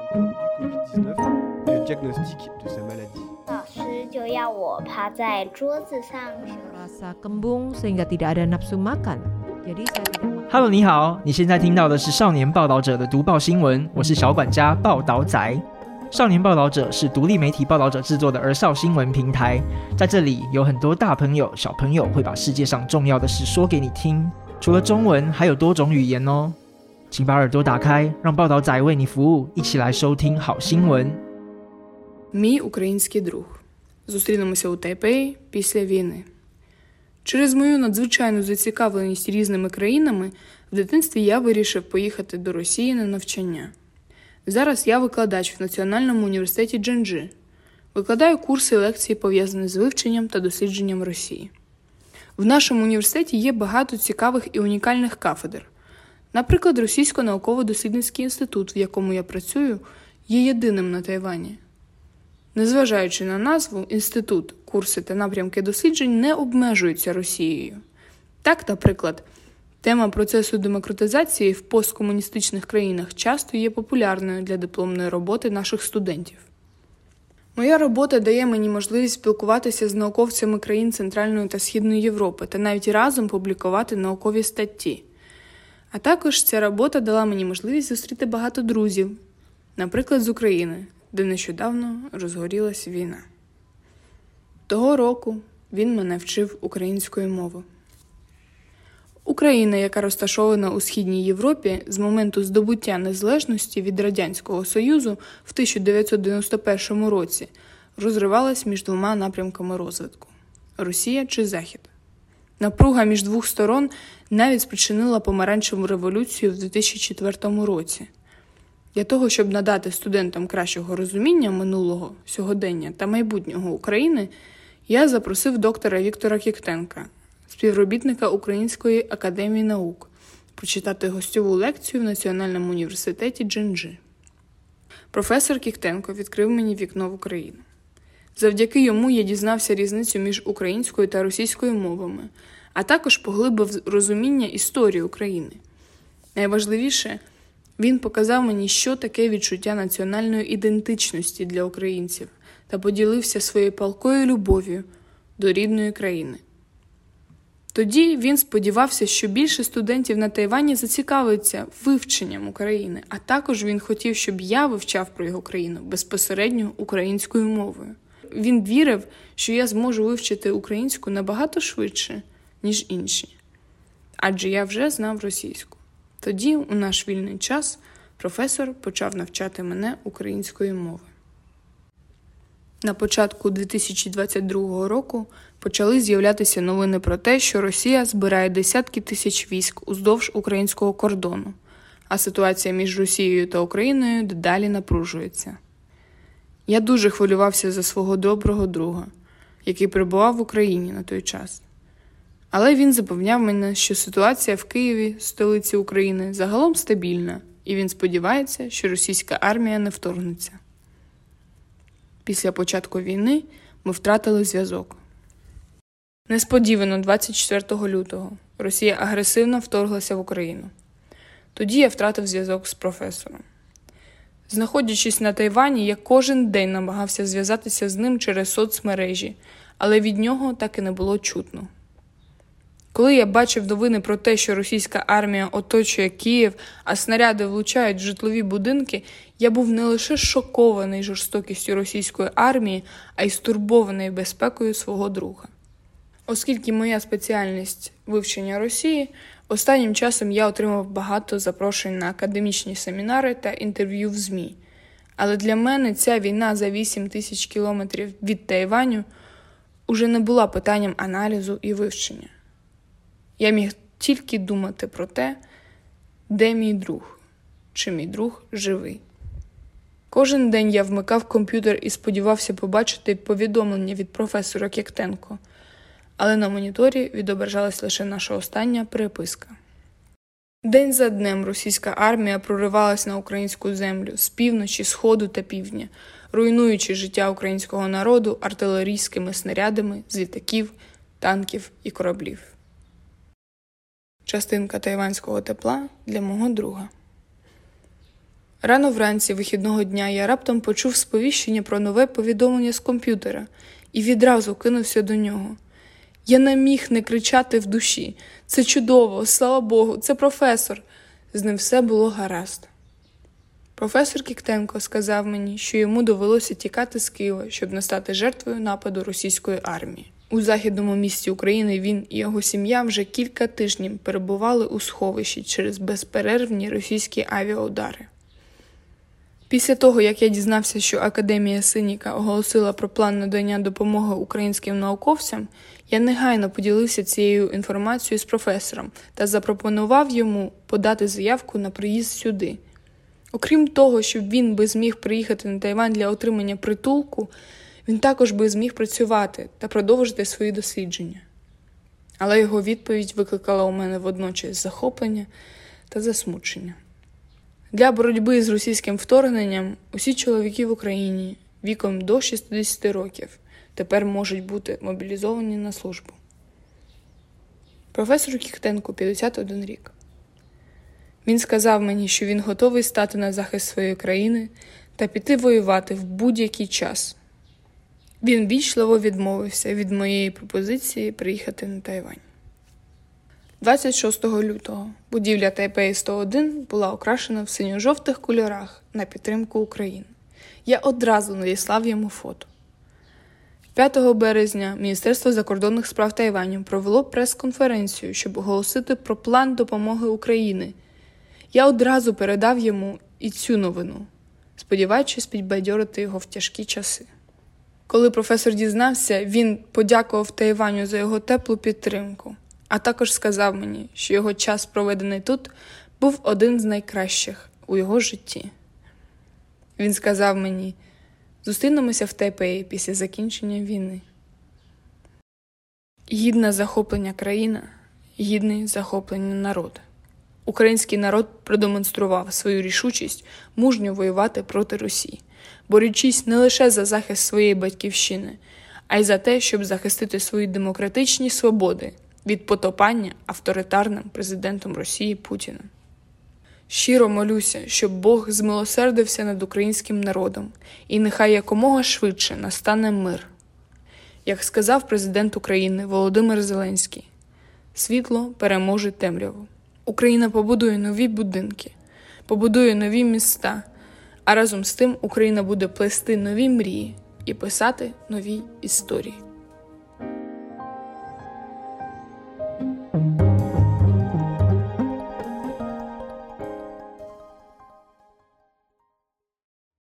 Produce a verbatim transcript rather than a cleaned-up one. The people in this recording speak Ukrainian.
covid dix-neuf et le diagnostic de sa maladie. 老師就要我趴在桌子上。 Rasa kembung sehingga tidak ada nafsu makan. Jadi saya tidak. Hello， 你好，你現在聽到的是少年報導者的讀報新聞，我是小管家報導仔。少年報導者是獨立媒體報導者製作的兒少新聞平台，在這裡有很多大朋友、小朋友會把世界上重要的事說給你聽，除了中文，還有多種語言哦。請把耳朵打開，讓報導仔為你服務，一起來收聽好新聞。 Мій український друг. Зустрінемося у Тайпеї після війни. Через мою надзвичайну зацікавленість різними країнами в дитинстві я вирішив поїхати до Росії на навчання. Зараз я викладач в Національному університеті Дженджи. Викладаю курси і лекції, пов'язані з вивченням та дослідженням Росії. В нашому університеті є багато цікавих і унікальних кафедр. Наприклад, Російсько науково-дослідницький інститут, в якому я працюю, є єдиним на Тайвані. Незважаючи на назву, інститут, курси та напрямки досліджень не обмежуються Росією. Так, наприклад, тема процесу демократизації в посткомуністичних країнах часто є популярною для дипломної роботи наших студентів. Моя робота дає мені можливість спілкуватися з науковцями країн Центральної та Східної Європи та навіть разом публікувати наукові статті. А також ця робота дала мені можливість зустріти багато друзів, наприклад, з України, де нещодавно розгорілась війна. Того року він мене вчив української мови. Україна, яка розташована у Східній Європі, з моменту здобуття незалежності від Радянського Союзу в тисяча дев'ятсот дев'яносто першому році, розривалась між двома напрямками розвитку – Росія чи Захід. Напруга між двох сторон навіть спричинила помаранчеву революцію в дві тисячі четвертому році. Для того, щоб надати студентам кращого розуміння минулого, сьогодення та майбутнього України, я запросив доктора Віктора Кіктенка, співробітника Української академії наук, прочитати гостьову лекцію в Національному університеті Дженджи. Професор Кіктенко відкрив мені вікно в Україну. Завдяки йому я дізнався різницю між українською та російською мовами, а також поглибив розуміння історії України. Найважливіше, він показав мені, що таке відчуття національної ідентичності для українців та поділився своєю палкою любов'ю до рідної країни. Тоді він сподівався, що більше студентів на Тайвані зацікавиться вивченням України, а також він хотів, щоб я вивчав про його країну безпосередньо українською мовою. Він вірив, що я зможу вивчити українську набагато швидше, ніж інші, адже я вже знав російську. Тоді, у наш вільний час, професор почав навчати мене української мови. На початку дві тисячі двадцять другого року почали з'являтися новини про те, що Росія збирає десятки тисяч військ уздовж українського кордону, а ситуація між Росією та Україною дедалі напружується. Я дуже хвилювався за свого доброго друга, який перебував в Україні на той час. Але він запевняв мене, що ситуація в Києві, столиці України, загалом стабільна, і він сподівається, що російська армія не вторгнеться. Після початку війни ми втратили зв'язок. Несподівано двадцять четвертого лютого Росія агресивно вторглася в Україну. Тоді я втратив зв'язок з професором. Знаходячись на Тайвані, я кожен день намагався зв'язатися з ним через соцмережі, але від нього так і не було чутно. Коли я бачив новини про те, що російська армія оточує Київ, а снаряди влучають в житлові будинки, я був не лише шокований жорстокістю російської армії, а й стурбований безпекою свого друга. Оскільки моя спеціальність – вивчення Росії, останнім часом я отримав багато запрошень на академічні семінари та інтерв'ю в ЗМІ. Але для мене ця війна за вісім тисяч кілометрів від Тайваню уже не була питанням аналізу і вивчення. Я міг тільки думати про те, де мій друг, чи мій друг живий. Кожен день я вмикав комп'ютер і сподівався побачити повідомлення від професора Кіктенко, але на моніторі відображалась лише наша остання переписка. День за днем російська армія проривалась на українську землю з півночі, сходу та півдня, руйнуючи життя українського народу артилерійськими снарядами з літаків, танків і кораблів. Частинка тайванського тепла для мого друга. Рано вранці вихідного дня я раптом почув сповіщення про нове повідомлення з комп'ютера і відразу кинувся до нього. Я не міг не кричати в душі. Це чудово, слава Богу, це професор. З ним все було гаразд. Професор Кіктенко сказав мені, що йому довелося тікати з Києва, щоб не стати жертвою нападу російської армії. У західному місті України він і його сім'я вже кілька тижнів перебували у сховищі через безперервні російські авіаудари. Після того, як я дізнався, що Академія Синіка оголосила про план надання допомоги українським науковцям, я негайно поділився цією інформацією з професором та запропонував йому подати заявку на приїзд сюди. Окрім того, щоб він би зміг приїхати на Тайвань для отримання притулку, він також би зміг працювати та продовжити свої дослідження. Але його відповідь викликала у мене водночас захоплення та засмучення. Для боротьби з російським вторгненням усі чоловіки в Україні віком до шістдесят років тепер можуть бути мобілізовані на службу. Професору Кіктенку п'ятдесят один рік. Він сказав мені, що він готовий стати на захист своєї країни та піти воювати в будь-який час. Він вічливо відмовився від моєї пропозиції приїхати на Тайвань. двадцять шостого лютого будівля Тайпей сто один була окрашена в синьо-жовтих кольорах на підтримку України. Я одразу надіслав йому фото. п'ятого березня Міністерство закордонних справ Тайваню провело прес-конференцію, щоб оголосити про план допомоги Україні. Я одразу передав йому і цю новину, сподіваючись підбадьорити його в тяжкі часи. Коли професор дізнався, він подякував Тайваню за його теплу підтримку, а також сказав мені, що його час, проведений тут, був один з найкращих у його житті. Він сказав мені: «Зустрінемося в Тайпеї після закінчення війни». Гідна захоплення країна, гідний захоплення народ. Український народ продемонстрував свою рішучість мужньо воювати проти Росії, борючись не лише за захист своєї батьківщини, а й за те, щоб захистити свої демократичні свободи від потопання авторитарним президентом Росії Путіним. Щиро молюся, щоб Бог змилосердився над українським народом, і нехай якомога швидше настане мир. Як сказав президент України Володимир Зеленський, світло переможе темряву. Україна побудує нові будинки, побудує нові міста, а разом з тим Україна буде плести нові мрії і писати нові історії.